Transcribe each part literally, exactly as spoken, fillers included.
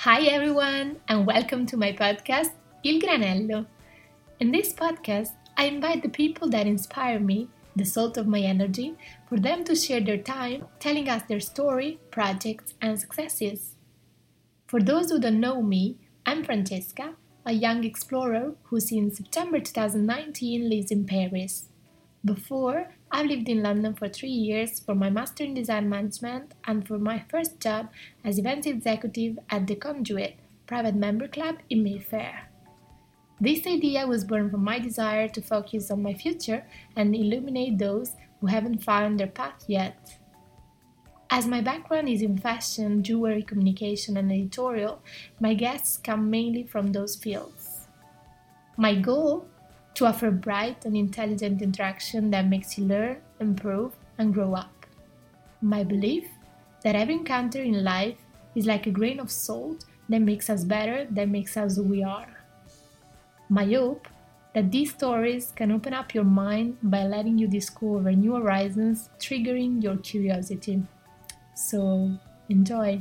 Hi everyone, and welcome to my podcast, Il Granello. In this podcast, I invite the people that inspire me, the salt of my energy, for them to share their time, telling us their story, projects, and successes. For those who don't know me, I'm Francesca, a young explorer who since September twenty nineteen lives in Paris. Before, I lived in London for three years for my Master in Design Management and for my first job as event executive at the Conduit private member club in Mayfair. This idea was born from my desire to focus on my future and illuminate those who haven't found their path yet. As my background is in fashion, jewelry, communication, and editorial, my guests come mainly from those fields. My goal? To offer bright and intelligent interaction that makes you learn, improve, and grow up. My belief? That every encounter in life is like a grain of salt that makes us better, that makes us who we are. My hope? That these stories can open up your mind by letting you discover new horizons, triggering your curiosity. So, enjoy!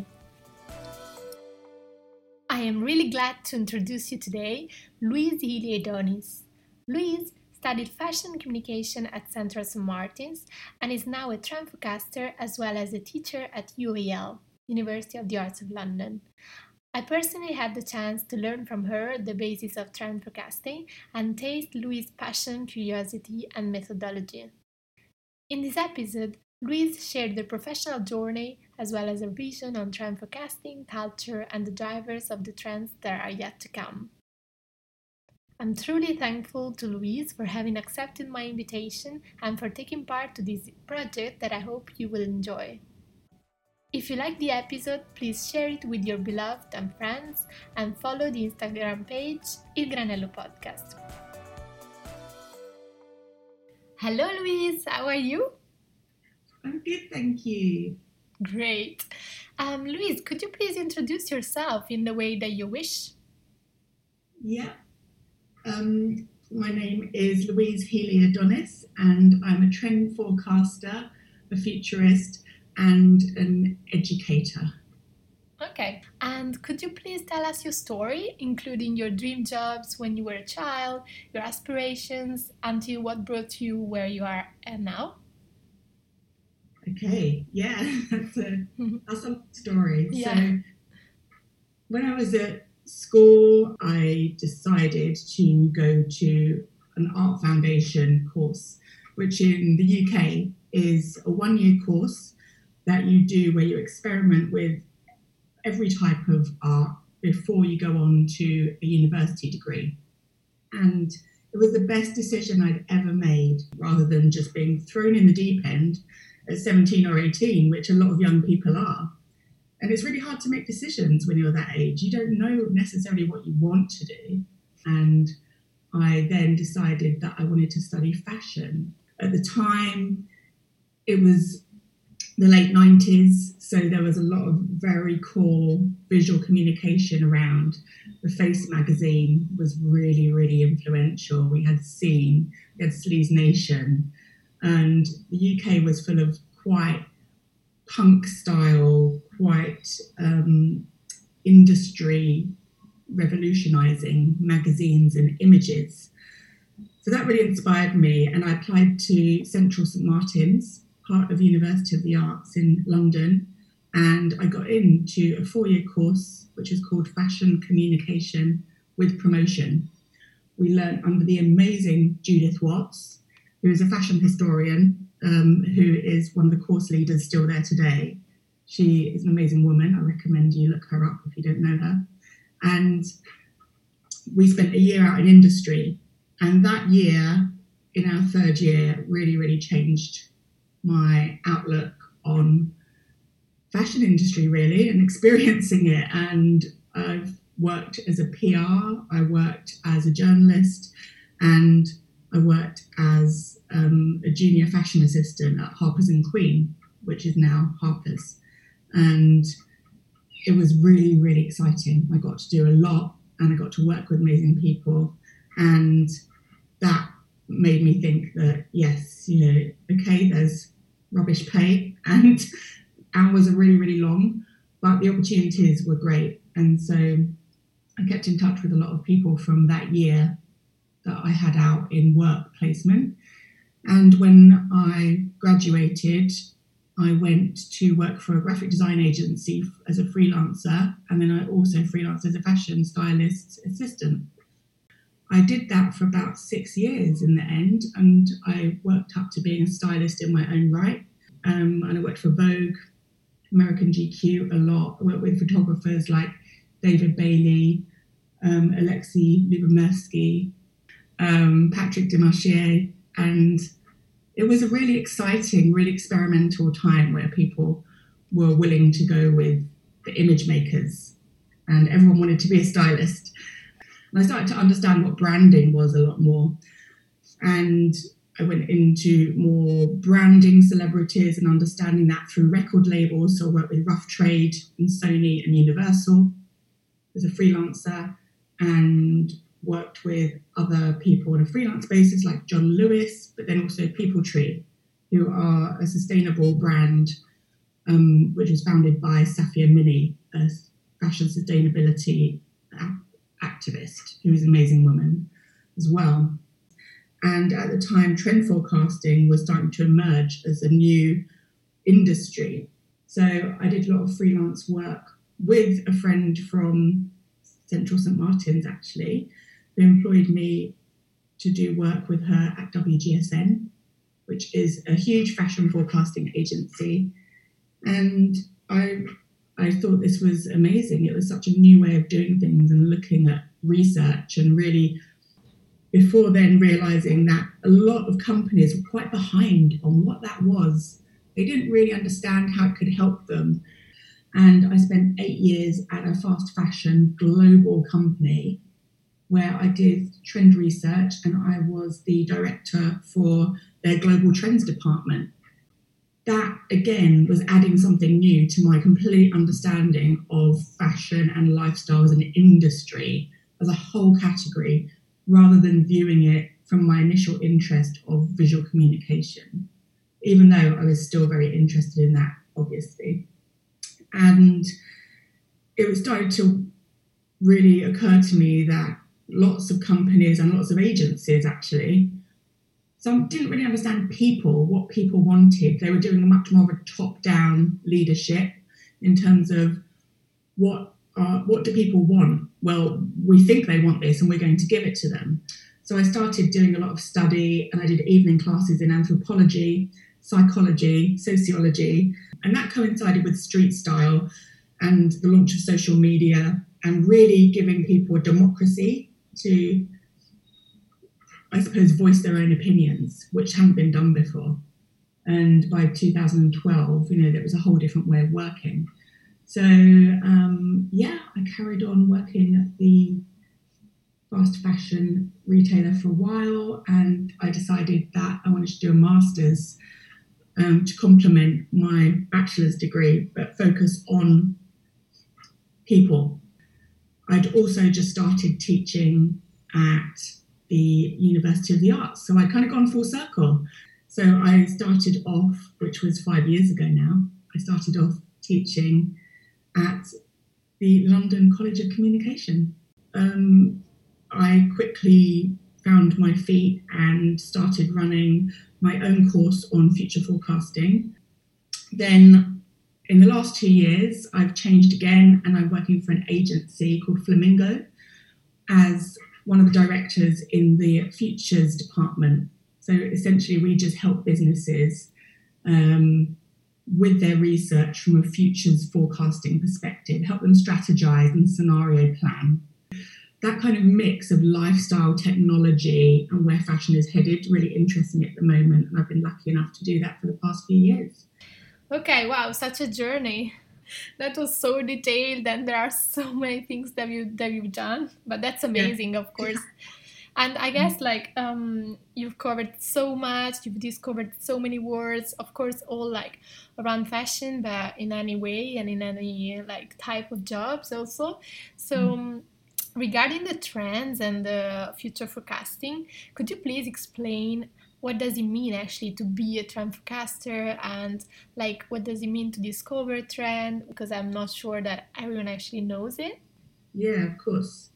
I am really glad to introduce you today, Louise Healy-Adonis. Louise studied fashion communication at Central Saint Martins and is now a trend forecaster as well as a teacher at U A L, University of the Arts of London. I personally had the chance to learn from her the basis of trend forecasting and taste Louise's passion, curiosity, and methodology. In this episode, Louise shared their professional journey as well as a vision on trend forecasting, culture, and the drivers of the trends that are yet to come. I'm truly thankful to Louise for having accepted my invitation and for taking part to this project that I hope you will enjoy. If you like the episode, please share it with your beloved and friends and follow the Instagram page Il Granello Podcast. Hello Louise, how are you? I'm good, thank you. Great. Um, Louise, could you please introduce yourself in the way that you wish? Yeah. Um, my name is Louise Healy-Adonis and I'm a trend forecaster, a futurist and an educator. Okay, and could you please tell us your story, including your dream jobs when you were a child, your aspirations, until what brought you where you are at now? Okay, yeah, that's a, that's a story. Yeah. So when I was at school, I decided to go to an art foundation course, which in the U K is a one-year course that you do where you experiment with every type of art before you go on to a university degree. And it was the best decision I'd ever made, rather than just being thrown in the deep end at seventeen or eighteen, which a lot of young people are. And it's really hard to make decisions when you're that age. You don't know necessarily what you want to do. And I then decided that I wanted to study fashion. At the time, it was the late nineties, so there was a lot of very cool visual communication around. The Face magazine was really, really influential. We had Scene, we had Sleaze Nation, and the U K was full of quite punk style, quite um, industry revolutionising magazines and images. So that really inspired me, and I applied to Central Saint Martins, part of University of the Arts in London, and I got into a four-year course which is called Fashion Communication with Promotion. We learned under the amazing Judith Watts, who is a fashion historian, um, who is one of the course leaders still there today. She is an amazing woman. I recommend you look her up if you don't know her. And we spent a year out in industry, and that year, in our third year, really, really changed my outlook on fashion industry, really, and experiencing it. And I've worked as a P R, I worked as a journalist, and I worked as um, a junior fashion assistant at Harper's and Queen, which is now Harper's. And it was really, really exciting. I got to do a lot and I got to work with amazing people. And that made me think that, yes, you know, okay, there's rubbish pay and hours are really, really long, but the opportunities were great. And so I kept in touch with a lot of people from that year that I had out in work placement. And when I graduated, I went to work for a graphic design agency as a freelancer, and then I also freelanced as a fashion stylist assistant. I did that for about six years in the end, and I worked up to being a stylist in my own right. Um, and I worked for Vogue, American G Q a lot. I worked with photographers like David Bailey, um, Alexei Lubomirsky, um, Patrick Demarchier, and it was a really exciting, really experimental time where people were willing to go with the image makers and everyone wanted to be a stylist. And I started to understand what branding was a lot more. And I went into more branding celebrities and understanding that through record labels. So I worked with Rough Trade and Sony and Universal as a freelancer, and worked with other people on a freelance basis like John Lewis, but then also People Tree, who are a sustainable brand um, which was founded by Safia Mini, a fashion sustainability activist, who is an amazing woman as well. And at the time, trend forecasting was starting to emerge as a new industry. So I did a lot of freelance work with a friend from Central Saint Martins, actually, who employed me to do work with her at W G S N, which is a huge fashion forecasting agency. And I I thought this was amazing. It was such a new way of doing things and looking at research, and really before then realizing that a lot of companies were quite behind on what that was. They didn't really understand how it could help them. And I spent eight years at a fast fashion global company where I did trend research, and I was the director for their global trends department. That, again, was adding something new to my complete understanding of fashion and lifestyle as an industry, as a whole category, rather than viewing it from my initial interest of visual communication, even though I was still very interested in that, obviously. And it was starting to really occur to me that lots of companies and lots of agencies, actually, some didn't really understand people, what people wanted. They were doing a much more of a top-down leadership in terms of what uh, what do people want? Well, we think they want this and we're going to give it to them. So I started doing a lot of study, and I did evening classes in anthropology, psychology, sociology, and that coincided with street style and the launch of social media, and really giving people a democracy to, I suppose, voice their own opinions, which hadn't been done before. And by two thousand twelve, you know, there was a whole different way of working. So, um, yeah, I carried on working at the fast fashion retailer for a while, and I decided that I wanted to do a master's um, to complement my bachelor's degree, but focus on people. I'd also just started teaching at the University of the Arts, so I'd kind of gone full circle. So I started off, which was five years ago now, I started off teaching at the London College of Communication. Um, I quickly found my feet and started running my own course on future forecasting. Then in the last two years, I've changed again, and I'm working for an agency called Flamingo as one of the directors in the futures department. So essentially, we just help businesses um, with their research from a futures forecasting perspective, help them strategize and scenario plan. That kind of mix of lifestyle, technology, and where fashion is headed really interests me at the moment, and I've been lucky enough to do that for the past few years. Okay, wow, such a journey. That was so detailed, and there are so many things that you that you've done, but that's amazing, yeah. Of course. And I guess like um, you've covered so much, you've discovered so many words, of course, all like around fashion, but in any way and in any like type of jobs also. So um, regarding the trends and the future forecasting, could you please explain what does it mean actually to be a trend forecaster, and like what does it mean to discover a trend, because I'm not sure that everyone actually knows it. Yeah, of course.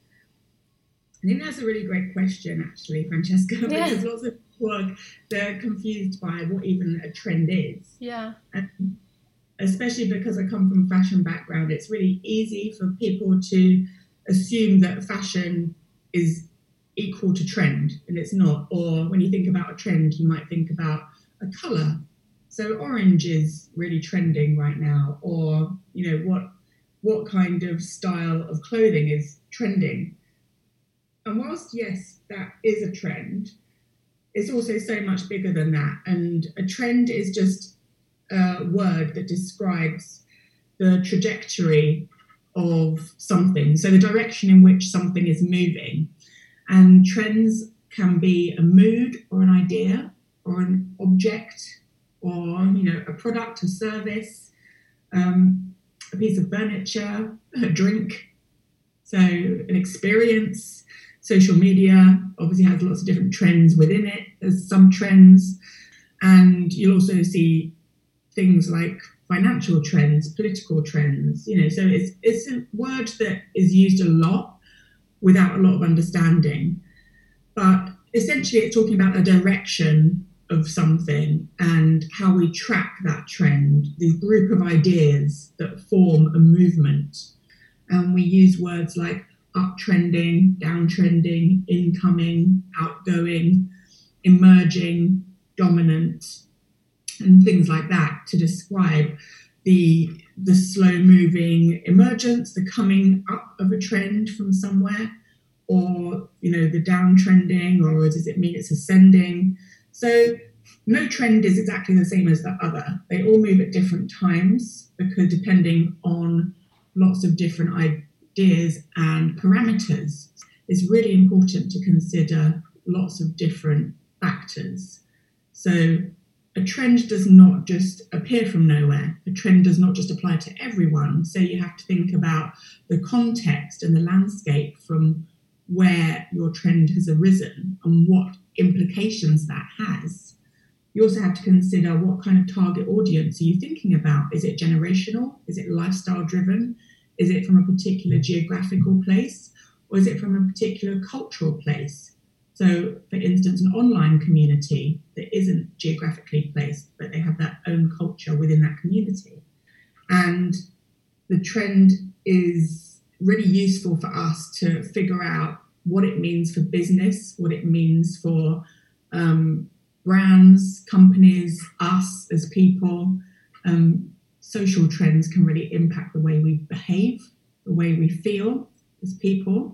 I think that's a really great question, actually, Francesca, Yeah. because lots of people are they're confused by what even a trend is. Yeah. And especially because I come from a fashion background, it's really easy for people to assume that fashion is equal to trend, and it's not. Or when you think about a trend, you might think about a colour. So orange is really trending right now, or you know what what kind of style of clothing is trending. And whilst, yes, that is a trend, it's also so much bigger than that. And a trend is just a word that describes the trajectory of something, so the direction in which something is moving. And trends can be a mood or an idea or an object or, you know, a product, a service, um, a piece of furniture, a drink, so an experience. Social media obviously has lots of different trends within it. There's some trends, and you'll also see things like financial trends, political trends. You know, so it's it's a word that is used a lot without a lot of understanding. But essentially, it's talking about a direction of something and how we track that trend, the group of ideas that form a movement. And we use words like uptrending, downtrending, incoming, outgoing, emerging, dominant, and things like that to describe the the slow moving emergence, the coming up of a trend from somewhere, or you know the downtrending, or does it mean it's ascending? So no trend is exactly the same as the other. They all move at different times because depending on lots of different ideas and parameters. It's really important to consider lots of different factors. So a trend does not just appear from nowhere. A trend does not just apply to everyone. So you have to think about the context and the landscape from where your trend has arisen and what implications that has. You also have to consider what kind of target audience are you thinking about? Is it generational? Is it lifestyle driven? Is it from a particular geographical place? Or is it from a particular cultural place? So, for instance, an online community that isn't geographically placed, but they have their own culture within that community. And the trend is really useful for us to figure out what it means for business, what it means for um, brands, companies, us as people. Um, social trends can really impact the way we behave, the way we feel as people.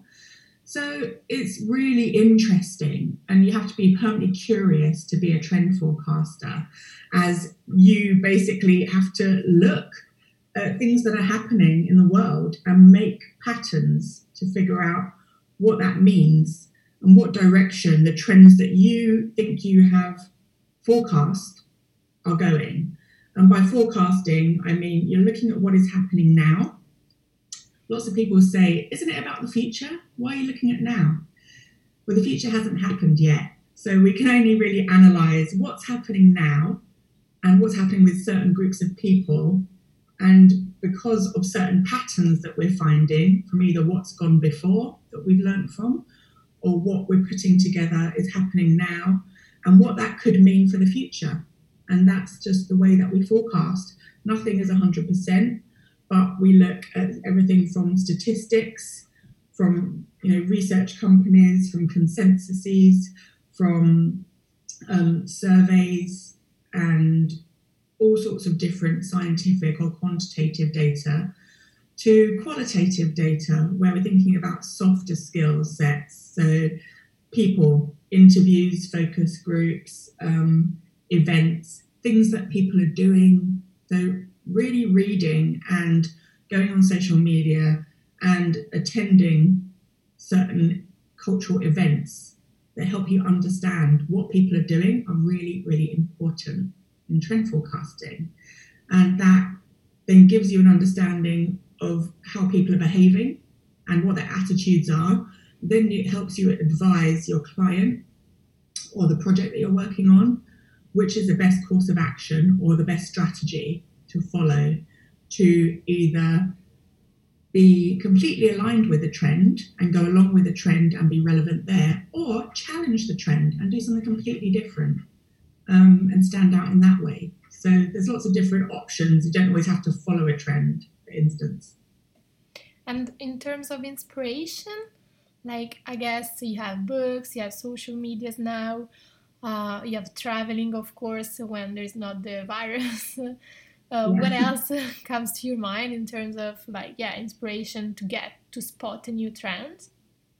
So it's really interesting, and you have to be permanently curious to be a trend forecaster, as you basically have to look at things that are happening in the world and make patterns to figure out what that means and what direction the trends that you think you have forecast are going. And by forecasting, I mean you're looking at what is happening now. Lots of people say, isn't it about the future? Why are you looking at now? Well, the future hasn't happened yet. So we can only really analyse what's happening now and what's happening with certain groups of people. And because of certain patterns that we're finding from either what's gone before that we've learnt from, or what we're putting together is happening now, and what that could mean for the future. And that's just the way that we forecast. Nothing is one hundred percent. But we look at everything from statistics, from you know research companies, from consensuses, from um, surveys, and all sorts of different scientific or quantitative data, to qualitative data, where we're thinking about softer skill sets. So people, interviews, focus groups, um, events, things that people are doing. So really reading and going on social media and attending certain cultural events that help you understand what people are doing are really, really important in trend forecasting. And that then gives you an understanding of how people are behaving and what their attitudes are. Then it helps you advise your client or the project that you're working on, which is the best course of action or the best strategy to follow to either be completely aligned with the trend and go along with the trend and be relevant there, or challenge the trend and do something completely different um, and stand out in that way. So there's lots of different options. You don't always have to follow a trend, for instance. And in terms of inspiration, like I guess you have books, you have social medias now, uh, you have traveling, of course, when there's not the virus. uh, Yeah. What else comes to your mind in terms of like, yeah, inspiration to get to spot a new trend?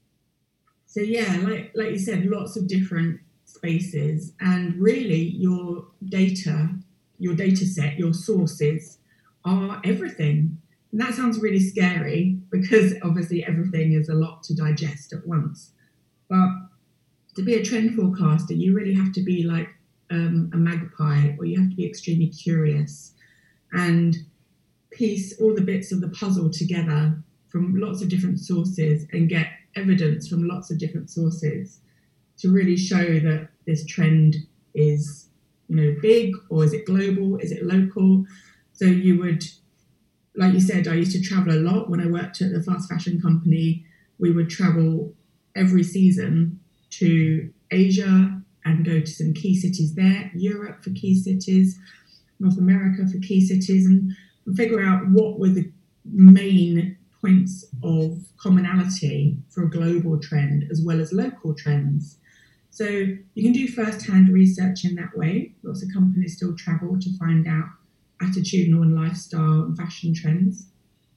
So yeah, like like you said, lots of different spaces, and really your data, your data set, your sources are everything. And that sounds really scary because obviously everything is a lot to digest at once. But to be a trend forecaster, you really have to be like um, a magpie, or you have to be extremely curious and piece all the bits of the puzzle together from lots of different sources and get evidence from lots of different sources to really show that this trend is, you know, big, or is it global, is it local? So you would, like you said, I used to travel a lot when I worked at the fast fashion company. We would travel every season to Asia and go to some key cities there, Europe for key cities, North America for key cities, and figure out what were the main points of commonality for a global trend as well as local trends. So you can do first-hand research in that way. Lots of companies still travel to find out attitudinal and lifestyle and fashion trends.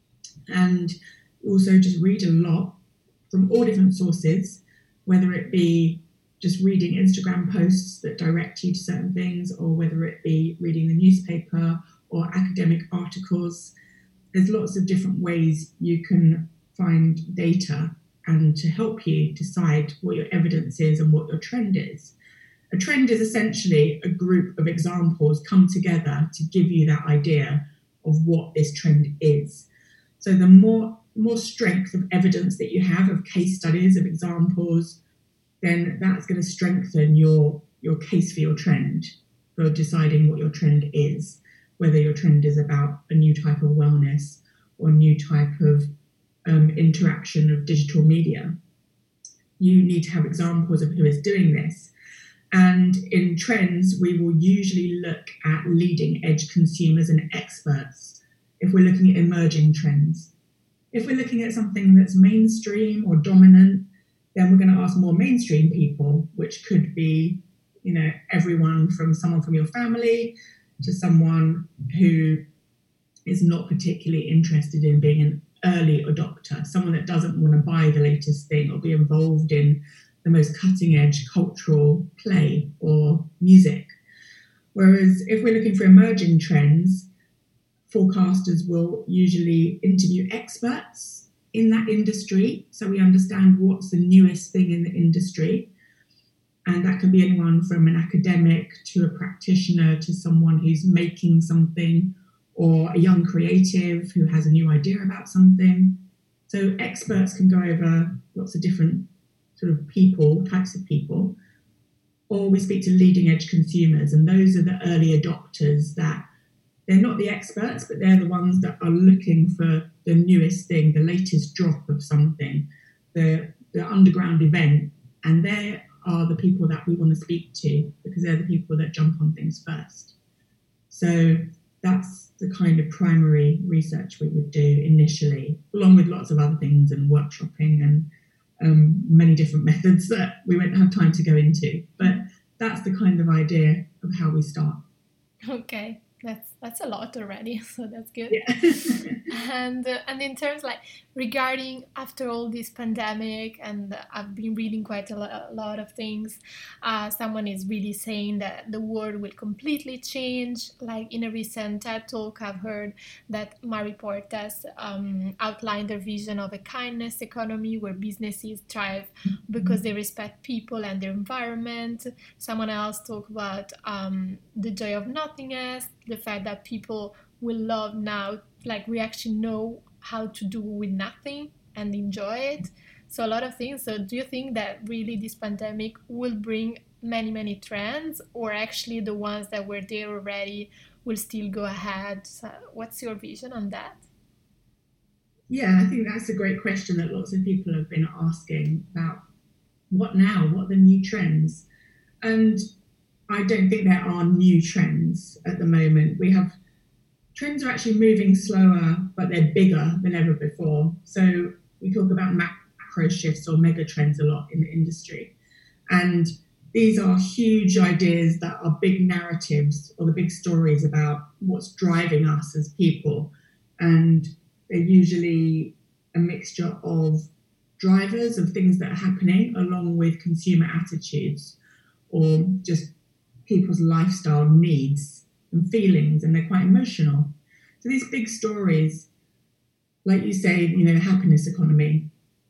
And also just read a lot from all different sources, whether it be just reading Instagram posts that direct you to certain things, or whether it be reading the newspaper or academic articles. There's lots of different ways you can find data and to help you decide what your evidence is and what your trend is. A trend is essentially a group of examples come together to give you that idea of what this trend is. So the more, more strength of evidence that you have, of case studies, of examples, then that's going to strengthen your, your case for your trend, for deciding what your trend is, whether your trend is about a new type of wellness or a new type of um, interaction of digital media. You need to have examples of who is doing this. And in trends, we will usually look at leading edge consumers and experts if we're looking at emerging trends. If we're looking at something that's mainstream or dominant, then we're going to ask more mainstream people, which could be, you know, everyone from someone from your family to someone who is not particularly interested in being an early adopter, someone that doesn't want to buy the latest thing or be involved in the most cutting edge cultural play or music. Whereas if we're looking for emerging trends, forecasters will usually interview experts in that industry, so we understand what's the newest thing in the industry. And that can be anyone from an academic to a practitioner to someone who's making something, or a young creative who has a new idea about something. So experts can go over lots of different sort of people, types of people. Or we speak to leading edge consumers, and those are the early adopters that they're not the experts, but they're the ones that are looking for the newest thing, the latest drop of something, the, the underground event. And they are the people that we want to speak to because they're the people that jump on things first. So that's the kind of primary research we would do initially, along with lots of other things and workshopping and um, many different methods that we won't have time to go into. But that's the kind of idea of how we start. Okay. That's that's a lot already, so that's good. Yeah. and uh, and in terms like regarding after all this pandemic, and uh, I've been reading quite a, lo- a lot of things. Uh, someone is really saying that the world will completely change. Like in a recent TED talk, I've heard that Mari Portas um, outlined their vision of a kindness economy where businesses thrive because they respect people and their environment. Someone else talked about um, the joy of nothingness, the fact that people will love now, like we actually know how to do with nothing and enjoy it. So a lot of things. So do you think that really this pandemic will bring many, many trends, or actually the ones that were there already will still go ahead? So what's your vision on that? Yeah, I think that's a great question that lots of people have been asking about what now, what are the new trends? And I don't think there are new trends at the moment. We have trends are actually moving slower, but they're bigger than ever before. So we talk about macro shifts or mega trends a lot in the industry. And these are huge ideas that are big narratives or the big stories about what's driving us as people. And they're usually a mixture of drivers of things that are happening along with consumer attitudes or just people's lifestyle needs and feelings, and they're quite emotional. So these big stories, like you say, you know, happiness economy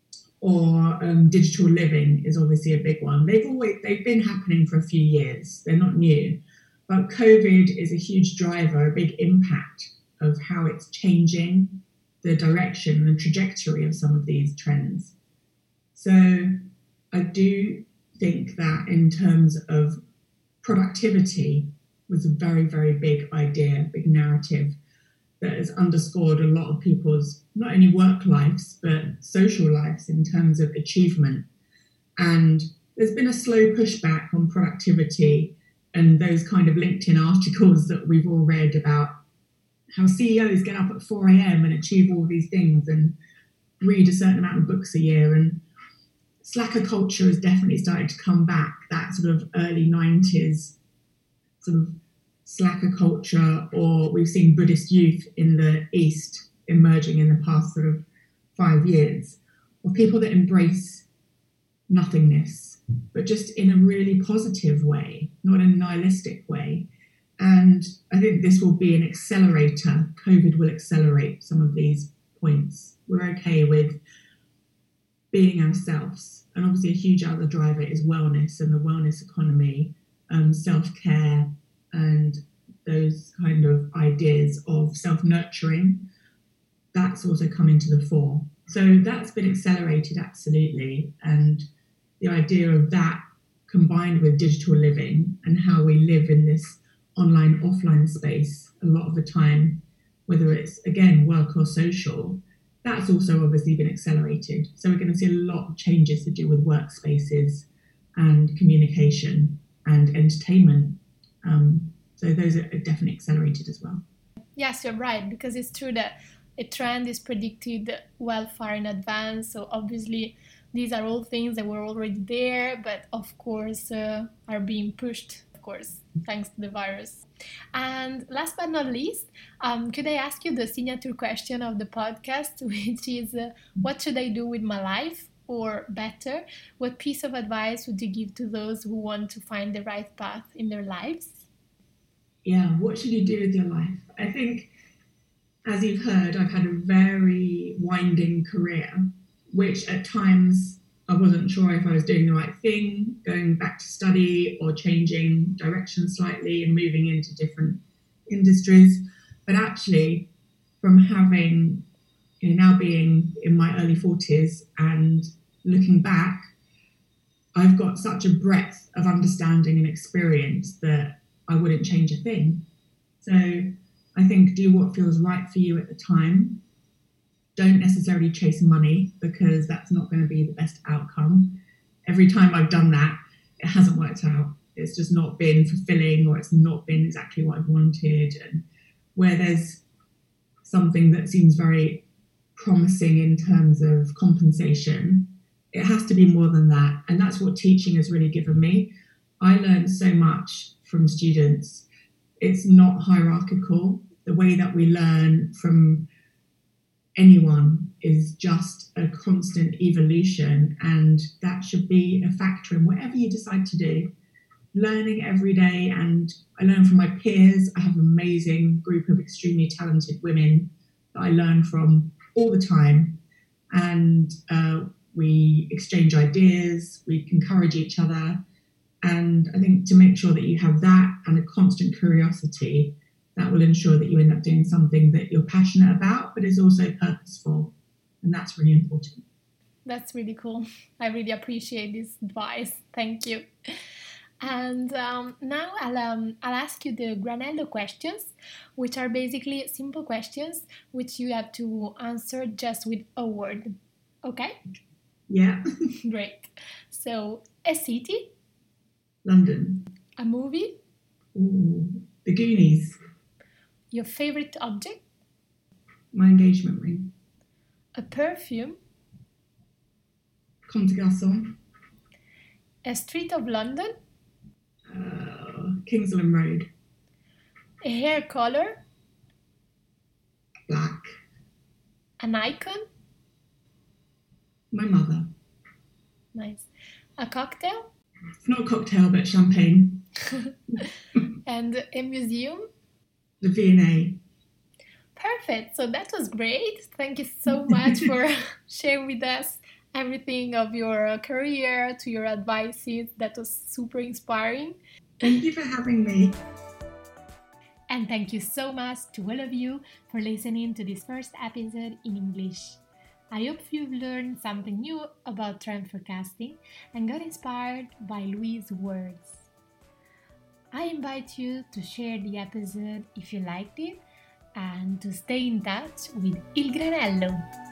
or um, digital living is obviously a big one. They've always they've been happening for a few years. They're not new, but COVID is a huge driver, a big impact of how it's changing the direction and trajectory of some of these trends. So I do think that in terms of productivity was a very, very big idea, big narrative that has underscored a lot of people's not only work lives, but social lives in terms of achievement. And there's been a slow pushback on productivity and those kind of LinkedIn articles that we've all read about how C E Os get up at four a.m. and achieve all these things and read a certain amount of books a year. And slacker culture has definitely started to come back, that sort of early nineties sort of slacker culture, or we've seen Buddhist youth in the East emerging in the past sort of five years, or people that embrace nothingness, but just in a really positive way, not in a nihilistic way. And I think this will be an accelerator. COVID will accelerate some of these points. We're okay with being ourselves. And obviously a huge other driver is wellness and the wellness economy, um, self-care, and those kind of ideas of self-nurturing. That's also coming to the fore. So that's been accelerated, absolutely. And the idea of that combined with digital living and how we live in this online, offline space a lot of the time, whether it's, again, work or social, that's also obviously been accelerated. So we're going to see a lot of changes to do with workspaces and communication and entertainment. Um, so those are definitely accelerated as well. Yes, you're right, because it's true that a trend is predicted well far in advance. So obviously these are all things that were already there, but of course uh, are being pushed, of course, thanks to the virus. And last but not least, um, could I ask you the signature question of the podcast, which is, uh, what should I do with my life? Or better, what piece of advice would you give to those who want to find the right path in their lives? Yeah, what should you do with your life? I think, as you've heard, I've had a very winding career, which at times I wasn't sure if I was doing the right thing, going back to study or changing direction slightly and moving into different industries. But actually, from having, you know, now being in my early forties and looking back, I've got such a breadth of understanding and experience that I wouldn't change a thing. So I think do what feels right for you at the time. Don't necessarily chase money because that's not going to be the best outcome. Every time I've done that, it hasn't worked out. It's just not been fulfilling, or it's not been exactly what I've wanted. And where there's something that seems very promising in terms of compensation, it has to be more than that. And that's what teaching has really given me. I learned so much from students. It's not hierarchical. The way that we learn from anyone is just a constant evolution, and that should be a factor in whatever you decide to do. Learning every day, and I learn from my peers. I have an amazing group of extremely talented women that I learn from all the time, and uh, we exchange ideas, we encourage each other. And I think to make sure that you have that and a constant curiosity, that will ensure that you end up doing something that you're passionate about, but is also purposeful. And that's really important. That's really cool. I really appreciate this advice. Thank you. And um, now I'll, um, I'll ask you the Granello questions, which are basically simple questions which you have to answer just with a word. Okay? Yeah. Great. So, a city, London. a movie, Ooh, The Goonies. your favorite object, My engagement ring. a perfume, Comme des Garçons. a street of London, Uh, Kingsland Road. a hair color, Black. an icon, My mother. nice, a cocktail, It's not a cocktail, but champagne. and a museum. The V and A. Perfect. So that was great. Thank you so much for sharing with us everything of your career to your advices. That was super inspiring. Thank you for having me. And thank you so much to all of you for listening to this first episode in English. I hope you've learned something new about trend forecasting and got inspired by Louise's words. I invite you to share the episode if you liked it and to stay in touch with Il Granello.